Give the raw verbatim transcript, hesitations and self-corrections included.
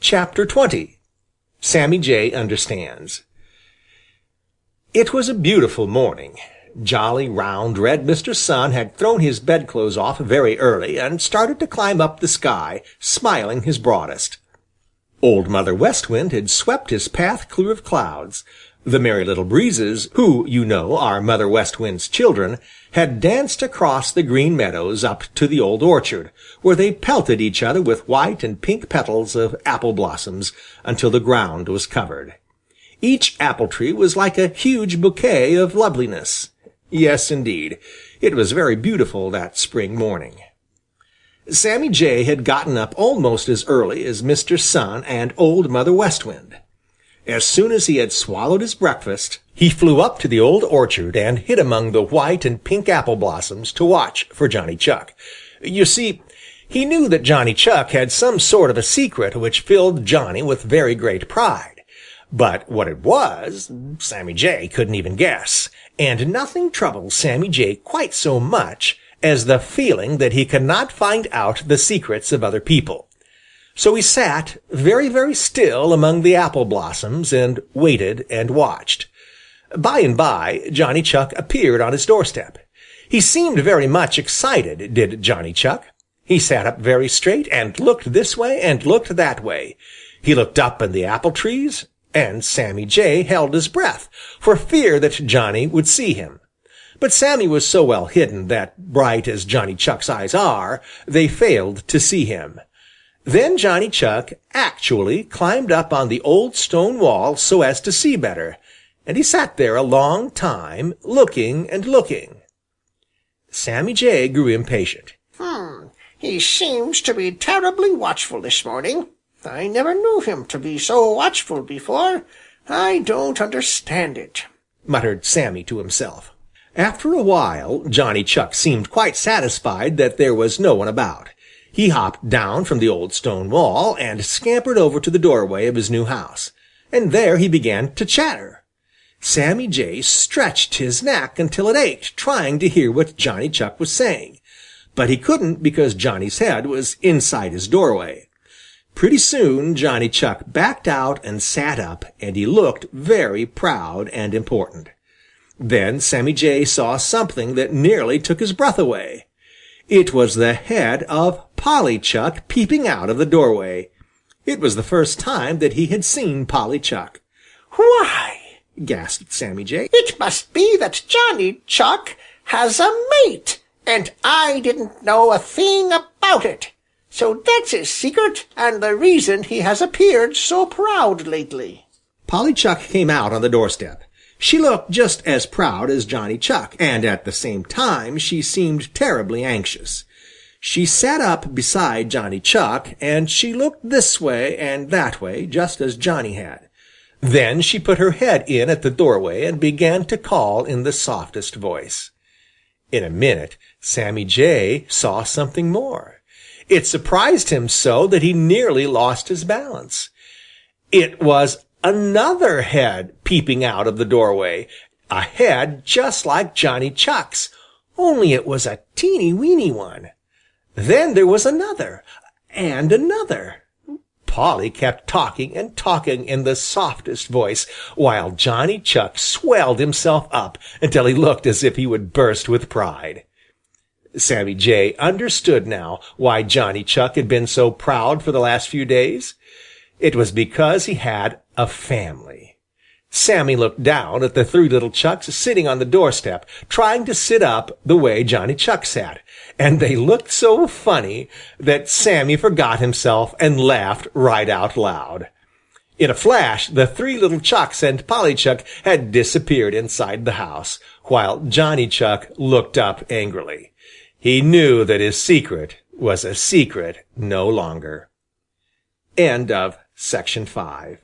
Chapter twenty. Sammy Jay Understands. It was a beautiful morning. Jolly, round, red Mister Sun had thrown his bedclothes off very early and started to climb up the sky, smiling his broadest. Old Mother West Wind had swept his path clear of clouds. The Merry Little Breezes, who, you know, are Mother West Wind's children, had danced across the Green Meadows up to the Old Orchard, where they pelted each other with white and pink petals of apple blossoms until the ground was covered. Each apple tree was like a huge bouquet of loveliness. Yes, indeed, it was very beautiful that spring morning. Sammy Jay had gotten up almost as early as Mister Sun and Old Mother West Wind. As soon as he had swallowed his breakfast, he flew up to the Old Orchard and hid among the white and pink apple blossoms to watch for Johnny Chuck. You see, he knew that Johnny Chuck had some sort of a secret which filled Johnny with very great pride. But what it was, Sammy Jay couldn't even guess, and nothing troubled Sammy Jay quite so much as the feeling that he could not find out the secrets of other people. So he sat very, very still among the apple blossoms and waited and watched. By and by, Johnny Chuck appeared on his doorstep. He seemed very much excited, did Johnny Chuck. He sat up very straight and looked this way and looked that way. He looked up in the apple trees, and Sammy Jay held his breath for fear that Johnny would see him. But Sammy was so well hidden that, bright as Johnny Chuck's eyes are, they failed to see him. Then Johnny Chuck actually climbed up on the old stone wall so as to see better, and he sat there a long time, looking and looking. Sammy Jay grew impatient. Hmm, he seems to be terribly watchful this morning. I never knew him to be so watchful before. I don't understand it, muttered Sammy to himself. After a while, Johnny Chuck seemed quite satisfied that there was no one about. He hopped down from the old stone wall and scampered over to the doorway of his new house, and there he began to chatter. Sammy Jay stretched his neck until it ached, trying to hear what Johnny Chuck was saying, but he couldn't because Johnny's head was inside his doorway. Pretty soon Johnny Chuck backed out and sat up, and he looked very proud and important. Then Sammy Jay saw something that nearly took his breath away. It was the head of Polly Chuck peeping out of the doorway. It was the first time that he had seen Polly Chuck. "Why," gasped Sammy Jay, "it must be that Johnny Chuck has a mate, and I didn't know a thing about it. So that's his secret, and the reason he has appeared so proud lately." Polly Chuck came out on the doorstep. She looked just as proud as Johnny Chuck, and at the same time she seemed terribly anxious. She sat up beside Johnny Chuck, and she looked this way and that way, just as Johnny had. Then she put her head in at the doorway and began to call in the softest voice. In a minute Sammy Jay saw something more. It surprised him so that he nearly lost his balance. It was another head peeping out of the doorway, a head just like Johnny Chuck's, only it was a teeny-weeny one. Then there was another, and another. Polly kept talking and talking in the softest voice, while Johnny Chuck swelled himself up until he looked as if he would burst with pride. Sammy Jay understood now why Johnny Chuck had been so proud for the last few days. It was because he had a family. Sammy looked down at the three little Chucks sitting on the doorstep, trying to sit up the way Johnny Chuck sat, and they looked so funny that Sammy forgot himself and laughed right out loud. In a flash, the three little Chucks and Polly Chuck had disappeared inside the house, while Johnny Chuck looked up angrily. He knew that his secret was a secret no longer. End of Section five.